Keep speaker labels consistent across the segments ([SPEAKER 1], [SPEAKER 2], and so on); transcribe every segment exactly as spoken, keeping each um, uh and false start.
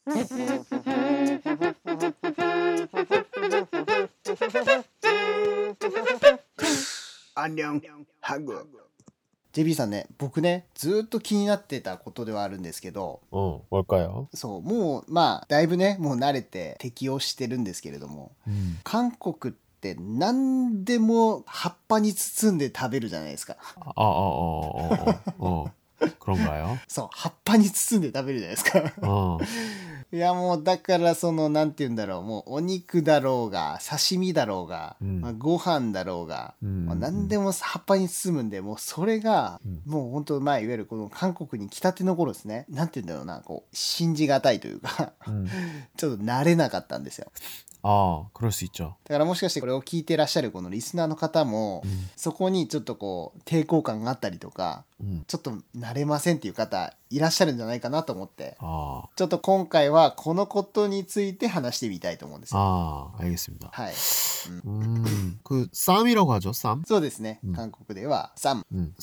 [SPEAKER 1] 안녕 한국。 ジェービー さんね、僕ねずっと気になってたことではあるんですけど、
[SPEAKER 2] 어 뭘까요?
[SPEAKER 1] そうもうまあだいぶねもう慣れて適応してるんですけれども、
[SPEAKER 2] 음.
[SPEAKER 1] 韓国って何でも葉っぱに包んで食べるじゃないですか。
[SPEAKER 2] 아, 어, 어, 어, 어, 어. 그런가요?
[SPEAKER 1] そう葉っぱに包んで食べるじゃないですか。
[SPEAKER 2] 어.
[SPEAKER 1] いやもうだからそのなんて言うんだろう、もうお肉だろうが刺身だろうが、
[SPEAKER 2] うん
[SPEAKER 1] まあ、ご飯だろうが、
[SPEAKER 2] うん
[SPEAKER 1] まあ、何でも葉っぱに包むんで、もうそれが、
[SPEAKER 2] うん
[SPEAKER 1] もう本当まあいわゆるこの韓国に来たての頃ですね、なんて言うんだろうな、こう信じがたいというか、
[SPEAKER 2] 음.
[SPEAKER 1] ちょっと慣れなかったんですよ。
[SPEAKER 2] 아, 그럴 수 있죠.
[SPEAKER 1] だからもしかしてこれを聞いてらっしゃるこのリスナーの方も、
[SPEAKER 2] 음.
[SPEAKER 1] そこにちょっとこう抵抗感があったりとか、
[SPEAKER 2] 음.
[SPEAKER 1] ちょっと慣れませんっていう方いらっしゃるんじゃないかなと思って、
[SPEAKER 2] 아,
[SPEAKER 1] ちょっと今回はこのことについて話してみたいと思うんですよ。
[SPEAKER 2] 아, 알겠습니다.
[SPEAKER 1] はい、
[SPEAKER 2] 음, 그 쌈이라고 하죠, 쌈.
[SPEAKER 1] そうですね、
[SPEAKER 2] うん
[SPEAKER 1] 韓国ではサム、
[SPEAKER 2] 음.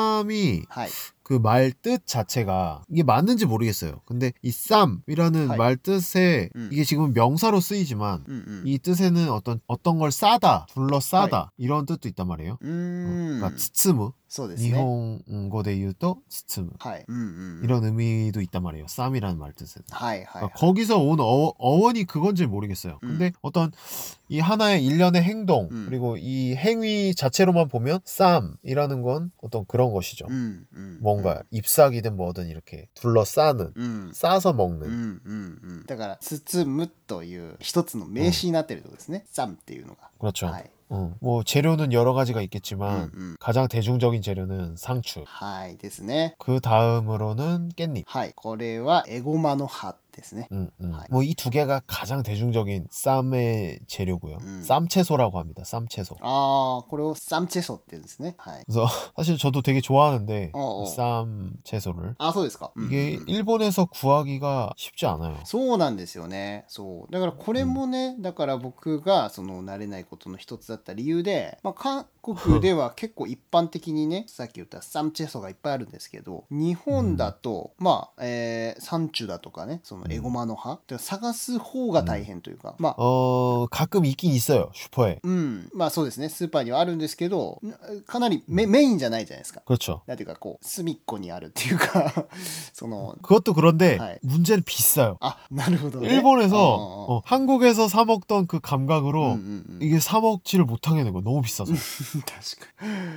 [SPEAKER 2] 쌈이
[SPEAKER 1] はい、
[SPEAKER 2] 그 말 뜻 자체가 이게 맞는지 모르겠어요. 근데 이 쌈이라는
[SPEAKER 1] 하이.
[SPEAKER 2] 말 뜻에
[SPEAKER 1] 음.
[SPEAKER 2] 이게 지금 명사로 쓰이지만
[SPEAKER 1] うんうん、
[SPEAKER 2] 이 뜻에는 어떤 어떤 걸 싸다, 둘러싸다 이런 뜻도 있단 말이에요.
[SPEAKER 1] うーん、
[SPEAKER 2] 그러니까 츠츠무,
[SPEAKER 1] そうですね、
[SPEAKER 2] 니혼고で言うと 츠츠무
[SPEAKER 1] はい、うんうん、
[SPEAKER 2] 이런 의미도 있단 말이에요. 쌈이라는 말 뜻에는.
[SPEAKER 1] はいはい、
[SPEAKER 2] 그러니까 거기서 온 어, 어원이 그건지 모르겠어요.
[SPEAKER 1] 음.
[SPEAKER 2] 근데 어떤 이 하나의 일련의 행동
[SPEAKER 1] 음.
[SPEAKER 2] 그리고 이 행위 자체로만 보면 쌈이라는 건 어떤 그런 것이죠.
[SPEAKER 1] うんうん、
[SPEAKER 2] 뭔가 잎사귀든 뭐든 이렇게 둘러싸는
[SPEAKER 1] うん、
[SPEAKER 2] 싸서
[SPEAKER 1] う
[SPEAKER 2] 먹는
[SPEAKER 1] んうんうん、だから包むという一つの名詞になってるところですね、サムっていうのが。
[SPEAKER 2] 그렇죠.
[SPEAKER 1] はい、
[SPEAKER 2] 어, 뭐 재료는 여러 가지가 있겠지만
[SPEAKER 1] 음, 음.
[SPEAKER 2] 가장 대중적인 재료는 상추.
[SPEAKER 1] はいですね。
[SPEAKER 2] 그 다음으로는 깻잎.
[SPEAKER 1] はい、これはエゴマの葉ですね。
[SPEAKER 2] 음, 음.
[SPEAKER 1] 하이.
[SPEAKER 2] 뭐 이 두 개가 가장 대중적인 쌈의 재료고요.
[SPEAKER 1] 음.
[SPEAKER 2] 쌈채소라고 합니다. 쌈채소.
[SPEAKER 1] ああ、これをサムチェソって言うんですね。はい。
[SPEAKER 2] 그래서 사실 저도 되게 좋아하는데
[SPEAKER 1] 어, 어.
[SPEAKER 2] 이 쌈채소를
[SPEAKER 1] あ、そうですか。
[SPEAKER 2] 이게
[SPEAKER 1] うんうん、
[SPEAKER 2] 일본에서 구하기가 쉽지 않아요.
[SPEAKER 1] そうなんですよね。そうだからこれもね、だから僕がその慣れないことの一つだった理由で、まあ、韓国では結構一般的にねさっき言ったサムチェソがいっぱいあるんですけど、日本だと、まあ、えー、サンチュだとかね、そのエゴマの葉って探す方が大変というか、まあ
[SPEAKER 2] 어 가끔 있긴 있어요. 슈퍼에.
[SPEAKER 1] うんまあそうですね、スーパーにはあるんですけど、かなりメ、メインじゃないじゃないですか。
[SPEAKER 2] 그렇죠.
[SPEAKER 1] なんていうかこう隅っこにあるっていうかその
[SPEAKER 2] 그것도 그런데
[SPEAKER 1] 하이.
[SPEAKER 2] 문제는 비싸요.
[SPEAKER 1] あ、なるほどね。
[SPEAKER 2] 일본에서
[SPEAKER 1] 어, 어, 어.
[SPEAKER 2] 어, 한국에서 사 먹던 그 감각으로
[SPEAKER 1] 음, 음, 음.
[SPEAKER 2] 이게 사 먹지를 못하겠는 거예요. 너무 비싸서.
[SPEAKER 1] 確かに。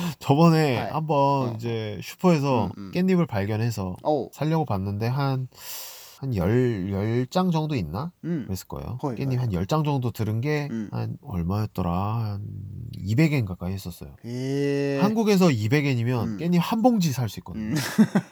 [SPEAKER 2] 저번에
[SPEAKER 1] 하이.
[SPEAKER 2] 한번
[SPEAKER 1] 어.
[SPEAKER 2] 이제 슈퍼에서
[SPEAKER 1] 음, 음.
[SPEAKER 2] 깻잎을 발견해서
[SPEAKER 1] おう、
[SPEAKER 2] 사려고 봤는데 한 한 열, 열 장 정도 있나?
[SPEAKER 1] うん、
[SPEAKER 2] 그랬을 거예요.
[SPEAKER 1] 거의,
[SPEAKER 2] 깻잎
[SPEAKER 1] 거의.
[SPEAKER 2] 한 열 장 정도 들은 게
[SPEAKER 1] 음.
[SPEAKER 2] 한 얼마였더라? 한 이백 엔 가까이 했었어요.
[SPEAKER 1] へえ。
[SPEAKER 2] 한국에서 이백 엔이면
[SPEAKER 1] 음.
[SPEAKER 2] 깻잎 한 봉지 살 수
[SPEAKER 1] う
[SPEAKER 2] 있거든요.
[SPEAKER 1] ん、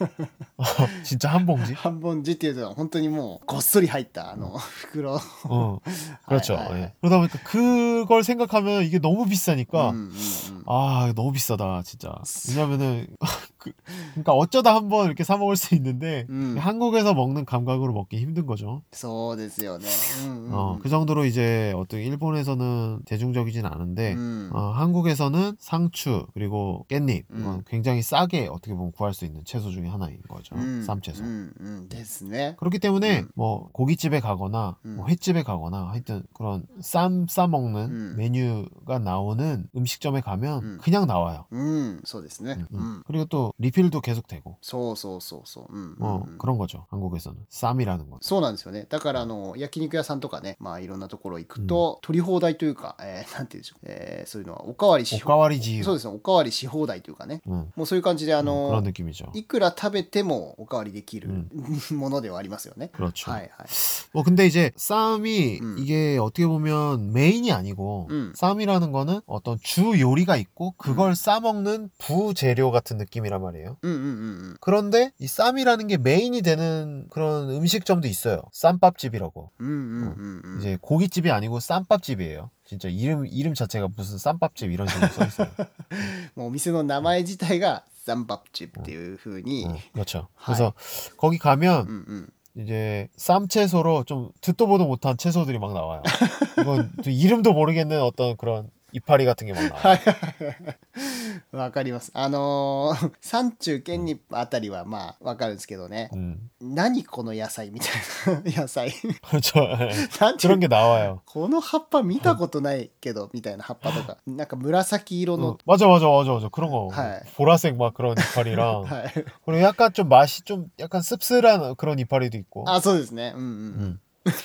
[SPEAKER 2] 진짜 한 봉지?
[SPEAKER 1] 半本字っていうと本当にもうごっそり入ったあの袋。
[SPEAKER 2] 어, 그렇죠.
[SPEAKER 1] 하이, 하이,
[SPEAKER 2] 예. 그러다 보니까 그걸 생각하면 이게 너무
[SPEAKER 1] う
[SPEAKER 2] 비싸니까
[SPEAKER 1] んうんうん、
[SPEAKER 2] 아 너무 비싸다 진짜. 왜냐면은 그, 그러니까 어쩌다 한번 이렇게 사 먹을 수 있는데
[SPEAKER 1] 음.
[SPEAKER 2] 한국에서 먹는 감각으로 먹기 힘든 거죠.
[SPEAKER 1] そうですよね。うんうん、
[SPEAKER 2] 어, 그 정도로 이제 어떤 일본에서는 대중적이진 않은데
[SPEAKER 1] うん、
[SPEAKER 2] 어, 한국에서는 상추 그리고 깻잎
[SPEAKER 1] 음.
[SPEAKER 2] 이건 굉장히 싸게 어떻게 보면 구할 수 있는 채소 중에 하나인 거죠.
[SPEAKER 1] うん、
[SPEAKER 2] 쌈채소.
[SPEAKER 1] うんうんですね。
[SPEAKER 2] 그렇기 때문에
[SPEAKER 1] 음.
[SPEAKER 2] 뭐 고깃집에 가거나
[SPEAKER 1] 음.
[SPEAKER 2] 뭐 횟집에 가거나 하여튼 그런 쌈 싸먹는
[SPEAKER 1] 음.
[SPEAKER 2] 메뉴가 나오는 음식점에 가면
[SPEAKER 1] 음.
[SPEAKER 2] 그냥 나와요.
[SPEAKER 1] うん、そうですね。
[SPEAKER 2] 음,
[SPEAKER 1] う
[SPEAKER 2] 음.
[SPEAKER 1] ん、
[SPEAKER 2] 그리고 또 리필도 계속 되고
[SPEAKER 1] そうそうそうそう。うん、うん、
[SPEAKER 2] 뭐
[SPEAKER 1] うん。
[SPEAKER 2] 그런 거죠. 한국에서는 쌈이라는 건.
[SPEAKER 1] そうなんですよね。だからあの焼肉屋さんとかね、まあいろんなところ行くと、取り放題というか、えーなんて言うんでしょう、えーそういうのはおかわりし
[SPEAKER 2] おかわり自由。
[SPEAKER 1] そうですね、おかわりし放題というかね、
[SPEAKER 2] 음,
[SPEAKER 1] もうそういう感じであ
[SPEAKER 2] 음,
[SPEAKER 1] の、
[SPEAKER 2] 그런 느낌이죠.
[SPEAKER 1] いくら食べてもおかわりできる、
[SPEAKER 2] うん
[SPEAKER 1] ものではありますよね。
[SPEAKER 2] 그렇죠.
[SPEAKER 1] はいはい。
[SPEAKER 2] 뭐 근데 이제 쌈이
[SPEAKER 1] 음.
[SPEAKER 2] 이게 어떻게 보면 메인이 아니고
[SPEAKER 1] 음.
[SPEAKER 2] 쌈이라는 거는 어떤 주 요리가 있고 그걸
[SPEAKER 1] 음.
[SPEAKER 2] 싸먹는 부재료 같은 느낌이란 말이에요.
[SPEAKER 1] うんうんうんうん。
[SPEAKER 2] 그런데 이 쌈이라는 게 메인이 되는 그런 음식점도 있어요. 쌈밥집이라고.
[SPEAKER 1] うんうんうんうん。
[SPEAKER 2] 이제 고깃집이 아니고 쌈밥집이에요. 진짜 이름 이름 자체가 무슨 쌈밥집 이런 식으로 써 있어요.
[SPEAKER 1] もうお店の名前自体がザンバプチっていう風に、
[SPEAKER 2] 어, 그렇죠.
[SPEAKER 1] 하이.
[SPEAKER 2] 그래서 거기 가면
[SPEAKER 1] うんうん。
[SPEAKER 2] 이제 쌈채소로 좀 듣도 보도 못한 채소들이 막 나와요. 이건 또 이름도 모르겠는 어떤 그런 이파리 같은 게 막
[SPEAKER 1] は
[SPEAKER 2] 나와요.
[SPEAKER 1] いはいはい。 わかります。あのー、山中堅日あたりはまあわかるんですけどね。
[SPEAKER 2] 음.
[SPEAKER 1] 何この野菜みたいな野菜
[SPEAKER 2] 그렇죠. 예.
[SPEAKER 1] なんていう
[SPEAKER 2] 그런 게 나와요.
[SPEAKER 1] この葉っぱ見たことないけどみたいな葉っぱとかなんか紫色
[SPEAKER 2] 어,
[SPEAKER 1] の
[SPEAKER 2] 맞아 맞아 맞아 맞아 그런 거.
[SPEAKER 1] 네.
[SPEAKER 2] 보라색 막 그런 이파리랑
[SPEAKER 1] はい
[SPEAKER 2] 그리고 약간 좀 맛이 좀 약간 씁쓸한 그런 이파리도 있고.
[SPEAKER 1] あそうですねうんうんうん
[SPEAKER 2] 음.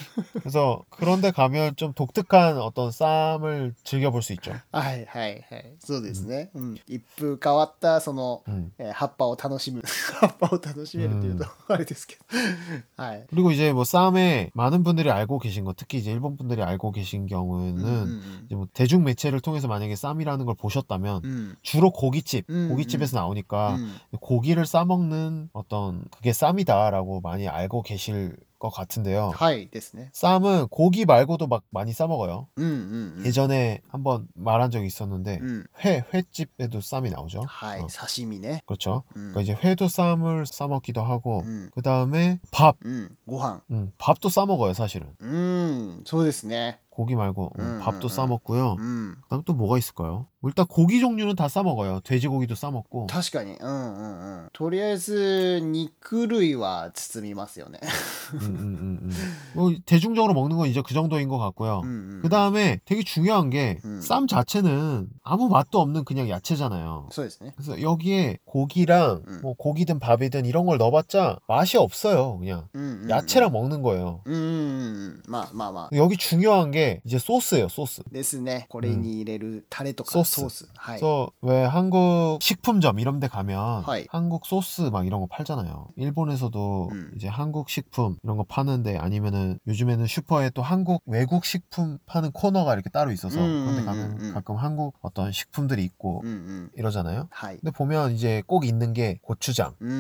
[SPEAKER 2] 그래서 그런데 가면 좀 독특한 어떤 쌈을 즐겨볼 수 있죠.
[SPEAKER 1] はいはいはいそうです
[SPEAKER 2] 음.
[SPEAKER 1] ね、うん、一風変わったその、
[SPEAKER 2] 음.
[SPEAKER 1] えー葉っぱを楽しむ葉っぱを楽しめるというと、
[SPEAKER 2] 음.
[SPEAKER 1] あれですけどはい
[SPEAKER 2] 그리고 이제 뭐 쌈에 많은 분들이 알고 계신 거, 특히 이제 일본 분들이 알고 계신
[SPEAKER 1] うん
[SPEAKER 2] 경우에는
[SPEAKER 1] うん
[SPEAKER 2] 이제 뭐 대중 매체를 통해서 만약에 쌈이라는 걸 보셨다면
[SPEAKER 1] うん
[SPEAKER 2] 주로 고깃집,
[SPEAKER 1] 음,
[SPEAKER 2] 고깃집에서
[SPEAKER 1] う
[SPEAKER 2] 나오니까
[SPEAKER 1] ん
[SPEAKER 2] 고기를 싸먹는 어떤 그게 쌈이다라고 많이 알고 계실 것 같은데요.
[SPEAKER 1] はいですね
[SPEAKER 2] 쌈은 고기 말고도 막 많이 싸먹어요.
[SPEAKER 1] うんうんうん
[SPEAKER 2] 예전에 한번 말한 적이 있었는데
[SPEAKER 1] うん
[SPEAKER 2] 회, 횟집에도 쌈이 나오죠.
[SPEAKER 1] はい
[SPEAKER 2] 어,
[SPEAKER 1] 刺身ね
[SPEAKER 2] 그렇죠.
[SPEAKER 1] うん
[SPEAKER 2] 그러니까 이제 회도 쌈을 싸먹기도 하고
[SPEAKER 1] うん
[SPEAKER 2] 그 다음에 밥,
[SPEAKER 1] うんご飯
[SPEAKER 2] 음, 밥도 싸먹어요 사실은.
[SPEAKER 1] うんそうですね
[SPEAKER 2] 고기 말고 음,
[SPEAKER 1] 음,
[SPEAKER 2] 밥도
[SPEAKER 1] 음,
[SPEAKER 2] 싸먹고요.
[SPEAKER 1] うん
[SPEAKER 2] 그다음 또 뭐가 있을까요? 뭐 일단 고기 종류는 다 싸먹어요. 돼지고기도 싸먹고.
[SPEAKER 1] 確かにうんうんうんとりあえず肉類は包みますよね
[SPEAKER 2] 음, 음, 음, 음. 뭐 대중적으로 먹는 건 이제 그 정도인 것 같고요.
[SPEAKER 1] うんうんうん
[SPEAKER 2] 그 다음에 되게 중요한 게
[SPEAKER 1] 음.
[SPEAKER 2] 쌈 자체는 아무 맛도 없는 그냥 야채잖아요.
[SPEAKER 1] そうですね
[SPEAKER 2] 그래서 여기에 고기랑
[SPEAKER 1] 음.
[SPEAKER 2] 뭐 고기든 밥이든 이런 걸 넣어봤자 맛이 없어요. 그냥
[SPEAKER 1] うんうんうん
[SPEAKER 2] 야채랑 먹는 거예요.
[SPEAKER 1] うんうんうんまあまあまあ
[SPEAKER 2] 여기 중요한 게 이제 소스예요. 소스.
[SPEAKER 1] ですねこれに入れるタレとか
[SPEAKER 2] ソース
[SPEAKER 1] ソースはい
[SPEAKER 2] 그래서 왜 한국 식품점 이런 데 가면
[SPEAKER 1] 하이.
[SPEAKER 2] 한국 소스 막 이런 거 팔잖아요. 일본에서도
[SPEAKER 1] 음.
[SPEAKER 2] 이제 한국 식품 이런 거 파는데 아니면은 요즘에는 슈퍼에 또 한국 외국 식품 파는 코너가 이렇게 따로 있어서
[SPEAKER 1] 음,
[SPEAKER 2] 그런데
[SPEAKER 1] 음,
[SPEAKER 2] 가면
[SPEAKER 1] 음, 음.
[SPEAKER 2] 가끔 한국 어떤 식품들이 있고
[SPEAKER 1] うんうん
[SPEAKER 2] 이러잖아요.
[SPEAKER 1] はい
[SPEAKER 2] 근데 보면 이제 꼭 있는 게 고추장.
[SPEAKER 1] うん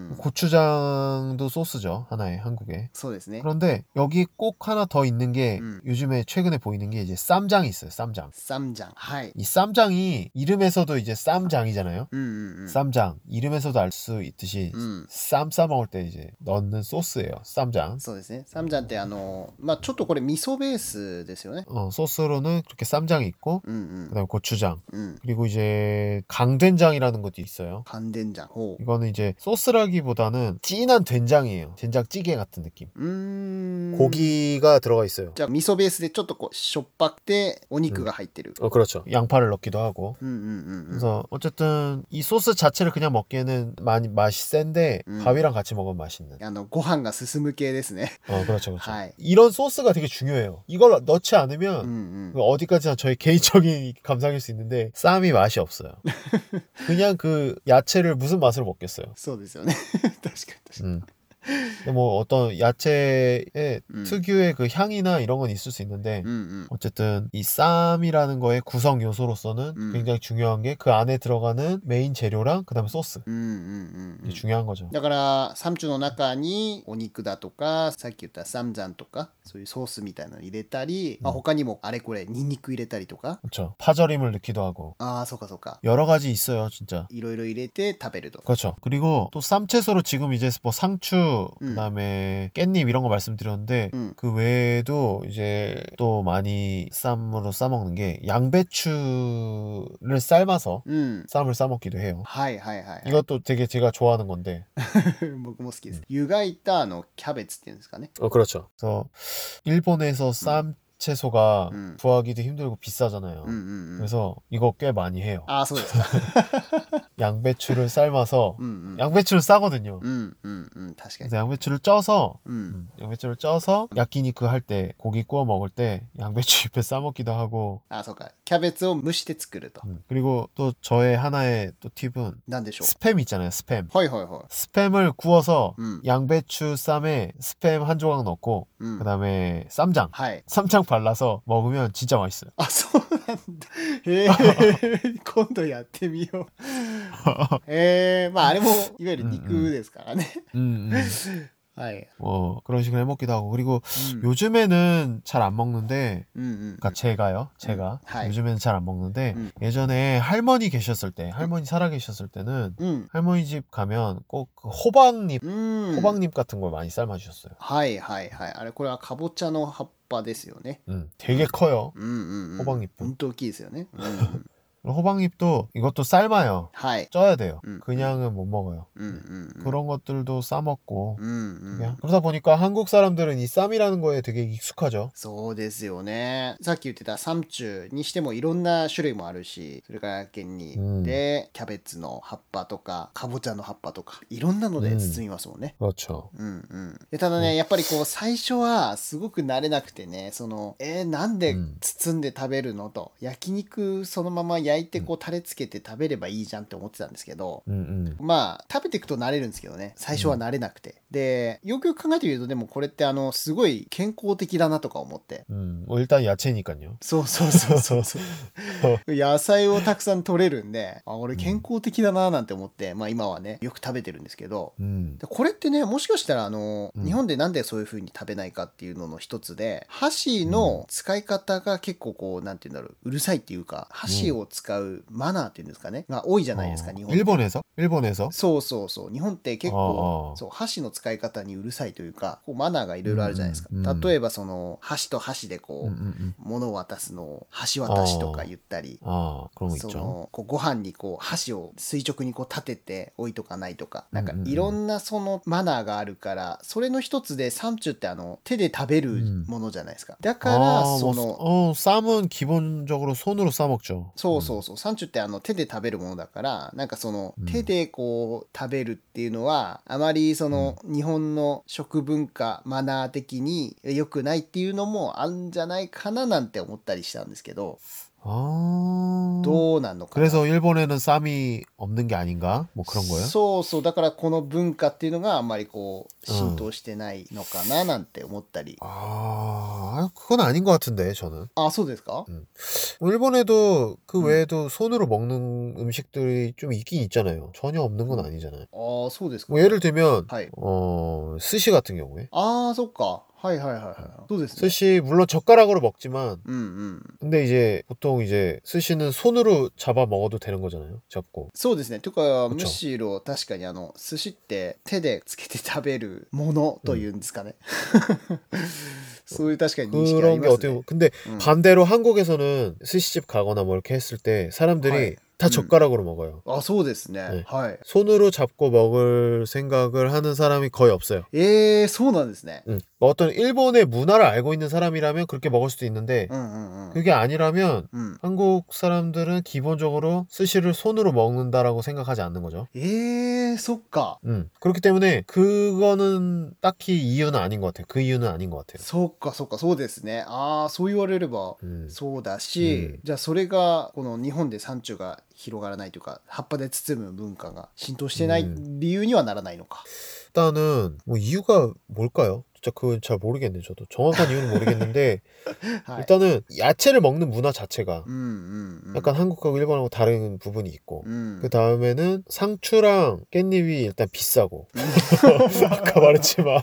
[SPEAKER 2] 고추장도 소스죠. 하나의 한국에.
[SPEAKER 1] そうですね
[SPEAKER 2] 그런데 여기 꼭 하나 더 있는 게
[SPEAKER 1] 음.
[SPEAKER 2] 요즘에 최근에 보이는 게 이제 쌈장이 있어요. 쌈장.
[SPEAKER 1] サムジャンはい
[SPEAKER 2] 이 쌈장이 이름에서도 이제 쌈장이잖아요.
[SPEAKER 1] うんうんうん
[SPEAKER 2] 쌈장 이름에서도 알 수 있듯이
[SPEAKER 1] うん
[SPEAKER 2] 쌈 싸먹을 때 이제 넣는 소스예요. 쌈장.
[SPEAKER 1] そうですねサムジャンってあのまあちょっとこれ味噌ベースですよね
[SPEAKER 2] 어, 소스로는 그렇게 쌈장이 있고
[SPEAKER 1] うんうん
[SPEAKER 2] 그다음에 고추장
[SPEAKER 1] うん
[SPEAKER 2] 그리고 이제 강된장이라는 것도 있어요.
[SPEAKER 1] 寒天醤ほ
[SPEAKER 2] 이거는 이제 소스라기보다는 진한 된장이에요. 된장찌개 같은 느낌.
[SPEAKER 1] ううーん
[SPEAKER 2] 고기가 들어가 있어요.
[SPEAKER 1] じゃあ味噌ベースでちょっとこうしょっぱくてお肉が入ってる
[SPEAKER 2] 어, 그렇죠. 양파를 넣기도 하고.
[SPEAKER 1] うんうんうんうん
[SPEAKER 2] 그래서 어쨌든 이 소스 자체를 그냥 먹기에는 많이 맛이 센데
[SPEAKER 1] 음.
[SPEAKER 2] 밥이랑 같이 먹으면 맛있는.
[SPEAKER 1] あのご飯が進む系ですね
[SPEAKER 2] 어, 그렇죠, 그렇죠.
[SPEAKER 1] 하이.
[SPEAKER 2] 이런 소스가 되게 중요해요. 이걸 넣지
[SPEAKER 1] うん
[SPEAKER 2] 않으면
[SPEAKER 1] うん
[SPEAKER 2] 어디까지나 저의 개인적인 감상일 수 있는데 쌈이 맛이 없어요. 그냥 그 야채를 무슨 맛으로 먹겠어요.
[SPEAKER 1] そうですよね確かに確かに
[SPEAKER 2] 음. 근데 뭐 어떤 야채의
[SPEAKER 1] 음.
[SPEAKER 2] 특유의 그 향이나 이런 건 있을 수 있는데
[SPEAKER 1] うんうん
[SPEAKER 2] 어쨌든 이 쌈이라는 거의 구성 요소로서는
[SPEAKER 1] 음.
[SPEAKER 2] 굉장히 중요한 게 그 안에 들어가는 메인 재료랑 그 다음에 소스
[SPEAKER 1] うんうんうんう
[SPEAKER 2] 이게
[SPEAKER 1] ん
[SPEAKER 2] 중요한 거죠.
[SPEAKER 1] だからサムチュの中にお肉だとかさっき言ったサムジャンとかそういうソースみたいなの入れたり、まあ、他にもあれこれニンニク入れたりとか
[SPEAKER 2] 그렇죠. 파절임을 넣기도 하고
[SPEAKER 1] ああそうかそうか
[SPEAKER 2] 여러 가지 있어요, 진짜.
[SPEAKER 1] いろいろ入れて食べると
[SPEAKER 2] 그렇죠. 그리고 또 쌈채소로 지금 이제 뭐 상추,
[SPEAKER 1] 음.
[SPEAKER 2] 그다음에 깻잎 이런 거 말씀드렸는데
[SPEAKER 1] 음.
[SPEAKER 2] 그 외에도 이제 또 많이 쌈으로 싸먹는 게 양배추를 삶아서
[SPEAKER 1] うん
[SPEAKER 2] 쌈을 싸먹기도 해요.
[SPEAKER 1] はいはいはい、はい、
[SPEAKER 2] 이것도 되게 제가 좋아하는 건데.
[SPEAKER 1] 僕も好きです湯がいたあのキャベツっていうんですかね
[SPEAKER 2] 어, 그렇죠. 그래서 일본에서 쌈 채소가
[SPEAKER 1] 음.
[SPEAKER 2] 구하기도 힘들고 비싸잖아요.
[SPEAKER 1] うんうんうん
[SPEAKER 2] 그래서 이거 꽤 많이 해요.
[SPEAKER 1] ああそうですか
[SPEAKER 2] 양배추를 삶아서
[SPEAKER 1] うんうん
[SPEAKER 2] 양배추는 싸거든요.
[SPEAKER 1] うんうんうん確かに
[SPEAKER 2] 그래서 양배추를 쪄서
[SPEAKER 1] うん
[SPEAKER 2] 음, 양배추를 쪄서 야끼니크 할 때 고기 구워 먹을 때 양배추 잎에 싸 먹기도 하고
[SPEAKER 1] あそうかキャベツを蒸して作ると
[SPEAKER 2] 음, 그리고 또 저의 하나의 또 팁은
[SPEAKER 1] なんでしょう
[SPEAKER 2] 스팸 있잖아요. 스팸.
[SPEAKER 1] はいはいはい
[SPEAKER 2] 스팸을 구워서
[SPEAKER 1] 음.
[SPEAKER 2] 양배추 쌈에 스팸 한 조각 넣고
[SPEAKER 1] うん
[SPEAKER 2] 그다음에 쌈장
[SPEAKER 1] はい
[SPEAKER 2] 쌈장 발라서 먹으면 진짜 맛있어요.
[SPEAKER 1] あそうなんだへえ今度やってみようへえまああれもいわゆる肉ですからね
[SPEAKER 2] 음, 음.
[SPEAKER 1] はい
[SPEAKER 2] 뭐 그런 식으로 해 먹기도 하고 그리고
[SPEAKER 1] うん
[SPEAKER 2] 요즘에는 잘 안 먹는데
[SPEAKER 1] うんうん
[SPEAKER 2] 그러니까 제가요. 제가
[SPEAKER 1] 음, 하이.
[SPEAKER 2] 요즘에는 잘 안 먹는데
[SPEAKER 1] 음.
[SPEAKER 2] 예전에 할머니 계셨을 때 할머니 살아 계셨을 때는
[SPEAKER 1] うん
[SPEAKER 2] 할머니 집 가면 꼭그 호박잎
[SPEAKER 1] うん
[SPEAKER 2] 호박잎 같은 걸 많이 삶아 주셨어요.
[SPEAKER 1] はいはいはいあれこれはかぼちゃの葉っぱですよね
[SPEAKER 2] 음, 되게 커요.
[SPEAKER 1] うんうんうん
[SPEAKER 2] 호박잎.
[SPEAKER 1] 本当大きいですよねうん
[SPEAKER 2] 그리고 호박잎도 이것도 삶아요.
[SPEAKER 1] はい。
[SPEAKER 2] 쪄야 돼요.
[SPEAKER 1] 음,
[SPEAKER 2] 그냥은 못 먹어요.
[SPEAKER 1] うんうんうん。
[SPEAKER 2] 그런 것들도 싸먹고
[SPEAKER 1] うんうん。
[SPEAKER 2] 그냥 그러다 보니까 한국 사람들은 이 쌈이라는 거에 되게 익숙하죠.
[SPEAKER 1] そうですよね。さっき言ってたサムチュにしてもいろんな種類もあるし、それから県に
[SPEAKER 2] うん
[SPEAKER 1] でキャベツの葉っぱとかかぼちゃの葉っぱとかいろんなので包みますもんね。
[SPEAKER 2] 그렇죠.
[SPEAKER 1] うんうんでただね、やっぱりこう最初はすごく慣れなくてね、そのえー、なんで包んで食べるのと、焼肉そのまま焼いてこうタレつけて食べればいいじゃんって思ってたんですけど、
[SPEAKER 2] 음, 음.
[SPEAKER 1] まあ食べていくと慣れるんですけどね、最初は慣れなくて、でよくよく考えてみるとでもこれってあのすごい健康的だなとか思って、
[SPEAKER 2] 음, 뭐 일단 야채니까요.
[SPEAKER 1] そうそうそうそうそう野菜をたくさん取れるんで、あ俺健康的だななんて思って、まあ今はねよく食べてるんですけど、
[SPEAKER 2] 음.
[SPEAKER 1] でこれってね、もしかしたらあの、
[SPEAKER 2] うん
[SPEAKER 1] 日本でなんでそういう風に食べないかっていうのの一つで、箸の使い方が結構こうなんていうんだろう、うるさいっていうか、箸を使うマナーっていうんですかねが多いじゃないですか、
[SPEAKER 2] 어,
[SPEAKER 1] 日本って。
[SPEAKER 2] 일본에서? 일본에서?
[SPEAKER 1] そうそうそう、日本って結構、
[SPEAKER 2] ああ
[SPEAKER 1] そう箸の使い方にうるさいというか、こうマナーがいろいろあるじゃないですか、
[SPEAKER 2] うんうん
[SPEAKER 1] 例えばその箸と箸でこう、
[SPEAKER 2] 음, 음, 음.
[SPEAKER 1] 物を渡すのを箸渡しとか言ったり、
[SPEAKER 2] 아, 그런 거
[SPEAKER 1] そ
[SPEAKER 2] 있죠.
[SPEAKER 1] のこうご飯にこう箸を垂直にこう立てて置いとかないとか、なんか
[SPEAKER 2] うんうんうん
[SPEAKER 1] いろんなそのマナーがあるから、それの一つでサムチュってあの手で食べるものじゃないですか、だから
[SPEAKER 2] 아,
[SPEAKER 1] そ
[SPEAKER 2] 뭐,
[SPEAKER 1] の
[SPEAKER 2] 어, 쌈은 기본적으로 손으로 싸먹죠.
[SPEAKER 1] そうそうそう、サンチュってあの手で食べるものだから、なんかその
[SPEAKER 2] うん
[SPEAKER 1] 手でこう食べるっていうのはあまりその日本の食文化マナー的に良くないっていうのもあるんじゃないかななんて思ったりしたんですけど、
[SPEAKER 2] 아,
[SPEAKER 1] どうなんのかな。
[SPEAKER 2] 그래서 일본에는 쌈이 없는 게 아닌가? 뭐 그런 거예요?
[SPEAKER 1] そうそう、だからこの文化っていうのがあんまりこう浸透してないのかななんて思ったり、
[SPEAKER 2] 아, 그건 아닌 것 같은데 저는.
[SPEAKER 1] あ、そうですか。
[SPEAKER 2] 뭐 일본에도 그
[SPEAKER 1] 음.
[SPEAKER 2] 외에도 손으로 먹는 음식들이 좀 있긴 있잖아요. 전혀 없는 건 아니잖아요.
[SPEAKER 1] ああ、そうですか。
[SPEAKER 2] 뭐 예를 들면
[SPEAKER 1] はい。
[SPEAKER 2] 어, 스시 같은 경우에
[SPEAKER 1] ああ、そっか。はいはいはいはい。そうですね。
[SPEAKER 2] 스시 물론 젓가락으로 먹지만
[SPEAKER 1] うんうん。
[SPEAKER 2] 근데 이제 보통 이제 스시는 손으로 잡아 먹어도 되는 거잖아요. 잡고.
[SPEAKER 1] そうですね。というか、
[SPEAKER 2] 그쵸
[SPEAKER 1] むしろ確かにあの寿司って手でつけて食べるものというんですかね。そういう確かに認識あり
[SPEAKER 2] 그런
[SPEAKER 1] ま
[SPEAKER 2] 게
[SPEAKER 1] す
[SPEAKER 2] 어떻게
[SPEAKER 1] ね。
[SPEAKER 2] 보면 근데
[SPEAKER 1] 음.
[SPEAKER 2] 반대로 한국에서는 스시집 가거나 뭐 이렇게 했을 때 사람들이
[SPEAKER 1] 하이.
[SPEAKER 2] 다
[SPEAKER 1] 음.
[SPEAKER 2] 젓가락으로 먹어요.
[SPEAKER 1] あ、そうですね。
[SPEAKER 2] 네
[SPEAKER 1] はい。
[SPEAKER 2] 손으로 잡고 먹을 생각을 하는 사람이 거의 없어요.
[SPEAKER 1] えー、そうなんですね。
[SPEAKER 2] 음. 뭐 어떤 일본의 문화를 알고 있는 사람이라면 그렇게 먹을 수도 있는데
[SPEAKER 1] うんうんうん。
[SPEAKER 2] 그게 아니라면
[SPEAKER 1] うん。
[SPEAKER 2] 한국 사람들은 기본적으로 스시를 손으로 먹는다라고 생각하지 않는 거죠.
[SPEAKER 1] えー、そっか。
[SPEAKER 2] 음. 그렇기 때문에 그거는 딱히 이유는 아닌 것 같아요. 그 이유는 아닌 것 같아요.
[SPEAKER 1] そっかそっか、そうですね。ああ、そう言われれば
[SPEAKER 2] 음.
[SPEAKER 1] そうだし、
[SPEAKER 2] うん、
[SPEAKER 1] じゃあそれがこの日本で産地が広がらないというか、葉っぱで包む文化が浸透してない
[SPEAKER 2] うん
[SPEAKER 1] 理由にはならないのか。
[SPEAKER 2] 일단은 뭐 이유가 뭘까요? 진짜 그건 잘 모르겠네요. 저도 정확한 이유는 모르겠는데
[SPEAKER 1] はい。
[SPEAKER 2] 일단은 야채를 먹는 문화 자체가
[SPEAKER 1] うんうんうん。
[SPEAKER 2] 약간 한국하고 일본하고 다른 부분이 있고
[SPEAKER 1] うん。
[SPEAKER 2] 그 다음에는 상추랑 깻잎이 일단 비싸고 아까 말했지만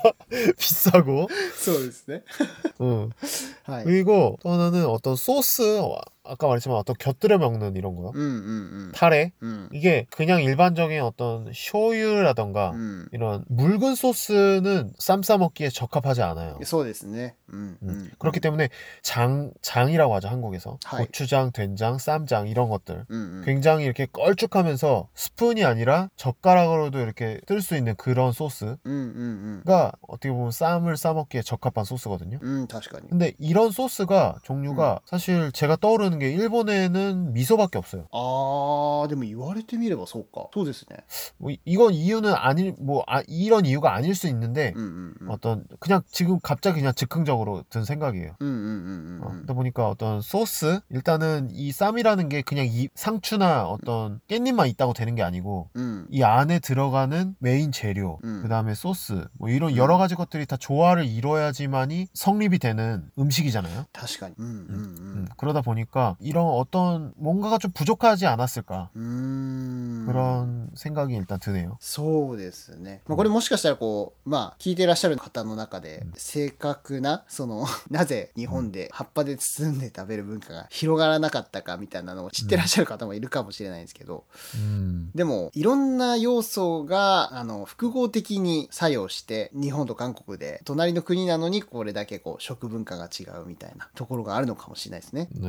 [SPEAKER 2] 비싸고
[SPEAKER 1] そうですね。
[SPEAKER 2] 음.
[SPEAKER 1] はい。
[SPEAKER 2] 그리고 또 하나는 어떤 소스 아까 말했지만 어떤 곁들여 먹는 이런 거
[SPEAKER 1] うんうんうん。
[SPEAKER 2] 타레
[SPEAKER 1] うん。
[SPEAKER 2] 이게 그냥 일반적인 어떤 쇼유라던가
[SPEAKER 1] うん。
[SPEAKER 2] 이런 묽은 소스는 쌈 싸먹기에 적합하지 않아요.
[SPEAKER 1] そうですね。うんう
[SPEAKER 2] 음.
[SPEAKER 1] ん。
[SPEAKER 2] 그렇기 때문에 장, 장이라고 하죠, 한국에서.
[SPEAKER 1] 하이.
[SPEAKER 2] 고추장, 된장, 쌈장 이런 것들
[SPEAKER 1] うんうん。
[SPEAKER 2] 굉장히 이렇게 걸쭉하면서 스푼이 아니라 젓가락으로도 이렇게 뜰 수 있는 그런 소스가
[SPEAKER 1] うんうん
[SPEAKER 2] 어떻게 보면 쌈을 싸먹기에 적합한 소스거든요.
[SPEAKER 1] うん。うん、確かに。
[SPEAKER 2] 근데 이런 소스가 종류가 사실 제가 떠오르는 게 일본에는 미소밖에 없어요.
[SPEAKER 1] ああ、でも言われてみればそうか。そうですね。
[SPEAKER 2] 뭐 이- 이건 이유는 아닐 뭐 아, 이런 이유가 아닐 수 있는데
[SPEAKER 1] うんうんうん。
[SPEAKER 2] 어떤 그냥 지금 갑자기 그냥 즉흥적으로 든 생각이에요.
[SPEAKER 1] うんうんうんう
[SPEAKER 2] 어,
[SPEAKER 1] んうん。
[SPEAKER 2] 그러다 보니까 어떤 소스 일단은 이 쌈이라는 게 그냥 이 상추나 어떤 깻잎만 있다고 되는 게 아니고
[SPEAKER 1] うん。
[SPEAKER 2] 이 안에 들어가는 메인 재료
[SPEAKER 1] 음.
[SPEAKER 2] 그 다음에 소스 뭐 이런
[SPEAKER 1] 음.
[SPEAKER 2] 여러 가지 것들이 다 조화를 이뤄야지만이 성립이 되는 음식이잖아요.
[SPEAKER 1] 確かに。うんうんう
[SPEAKER 2] 음,
[SPEAKER 1] ん。
[SPEAKER 2] 그러다 보니까 이런 어떤 뭔가가 좀 부족하지 않았을까
[SPEAKER 1] うーん。
[SPEAKER 2] 그런 생각이 일단 드네요.
[SPEAKER 1] そうですね。まあ、これもしかしたらこう、まあ、聞いていらっしゃる方の中で、正確な、その、なぜ日本で葉っぱで包んで食べる文化が広がらなかったかみたいなのを知ってらっしゃる方もいるかもしれないんですけど、
[SPEAKER 2] 음,
[SPEAKER 1] でも、いろんな要素が、あの、複合的に作用して、日本と韓国で、隣の国なのにこれだけこう、食文化が違うみたいなところがあるのかもしれないですね。
[SPEAKER 2] 네, 그런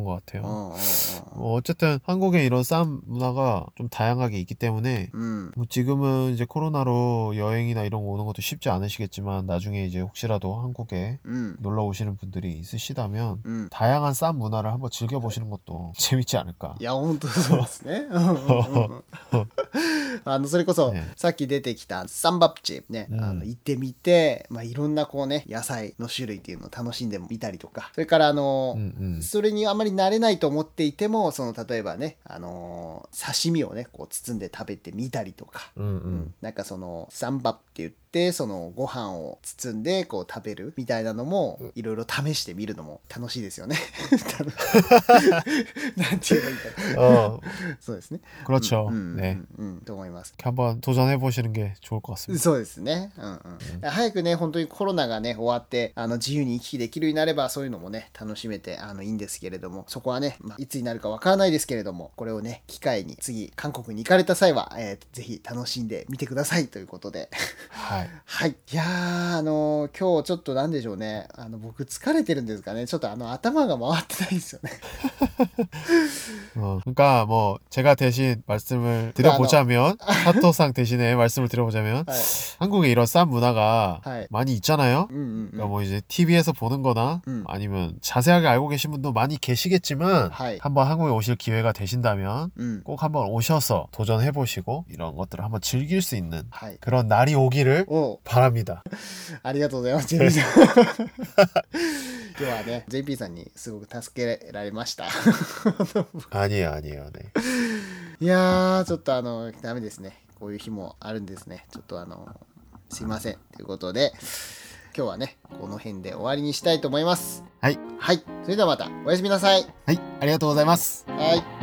[SPEAKER 2] 그런 것 같아요.
[SPEAKER 1] 어, 어, 어.
[SPEAKER 2] 뭐 어쨌든 한국에 이런 쌈 문화가 좀 다양하게 있기 때문에
[SPEAKER 1] 음.
[SPEAKER 2] 뭐 지금은 이제 코로나로 여행이나 이런 거 오는 것도 쉽지 않으시겠지만 나중에 이제 혹시라도 한국에
[SPEAKER 1] 음.
[SPEAKER 2] 놀러 오시는 분들이 있으시다면
[SPEAKER 1] 음.
[SPEAKER 2] 다양한 쌈 문화를 한번 즐겨보시는 것도 재밌지 않을까.
[SPEAKER 1] いや本当そうですね。うんうんうんうんあのそれこそ、
[SPEAKER 2] ね
[SPEAKER 1] さっき出てきたサンバプチね、
[SPEAKER 2] うん
[SPEAKER 1] あの行ってみて、まあ、いろんなこうね野菜の種類っていうのを楽しんでみたりとか、それからあの、
[SPEAKER 2] うんうん
[SPEAKER 1] それにあまり慣れないと思っていても、その例えばね、あの刺身をねこう包んで食べてみたりとか、
[SPEAKER 2] うんうん
[SPEAKER 1] なんかそのサンバプって言ってそのご飯を包んでこう食べるみたいなのもいろいろ試してみるのも楽しいですよね。なんて言えばいいかな。
[SPEAKER 2] 어,
[SPEAKER 1] そうですね。
[SPEAKER 2] 그렇죠.
[SPEAKER 1] うんうん
[SPEAKER 2] 네.
[SPEAKER 1] うんうんと思います。
[SPEAKER 2] 이렇게 한번 도전해 보시는 게 좋을 것 같습니다.
[SPEAKER 1] そうですね、うんうん早くね本当にコロナがね終わってあの自由に行き来できるようになればそういうのもね楽しめてあのいいんですけれども、そこはね、まあ、いつになるかわからないですけれども、これをね機会に次韓国に行かれた際は、えー、ぜひ楽しんでみてくださいということで
[SPEAKER 2] はい。
[SPEAKER 1] はい。いやー、あのー今日ちょっとなんでしょうね。あの、僕疲れてるんですかね。ちょっとあの、頭が回ってないですよね。
[SPEAKER 2] 어, 그러니까 뭐 제가 대신 말씀을 드려보자면 사토상 대신에 말씀을 드려보자면
[SPEAKER 1] はい。
[SPEAKER 2] 한국에 이런 쌈 문화가
[SPEAKER 1] 네.
[SPEAKER 2] 많이 있잖아요.
[SPEAKER 1] うんうんうん。
[SPEAKER 2] 그러니까 뭐 이제 티비에서 보는 거나
[SPEAKER 1] 음.
[SPEAKER 2] 아니면 자세하게 알고 계신 분도 많이 계시겠지만
[SPEAKER 1] 하이.
[SPEAKER 2] 한번 한국에 오실 기회가 되신다면
[SPEAKER 1] うん。
[SPEAKER 2] 꼭 한번 오셔서 도전해 보시고 이런 것들을 한번 즐길 수 있는
[SPEAKER 1] はい。
[SPEAKER 2] 그런 날이 오기를
[SPEAKER 1] おう
[SPEAKER 2] 바랍니다.
[SPEAKER 1] ありがとうございます、ジェイピー さん。今日はね、ジェイピー さんにすごく助けられました。
[SPEAKER 2] 아니에요, 아니에요. 네.
[SPEAKER 1] いやー、ちょっとあの、ダメですね。こういう日もあるんですね。ちょっとあの、すいません。ということで、今日はね、この辺で終わりにしたいと思います。
[SPEAKER 2] はい。
[SPEAKER 1] はい。それではまた、おやすみなさい。
[SPEAKER 2] はい、ありがとうございます。
[SPEAKER 1] はい。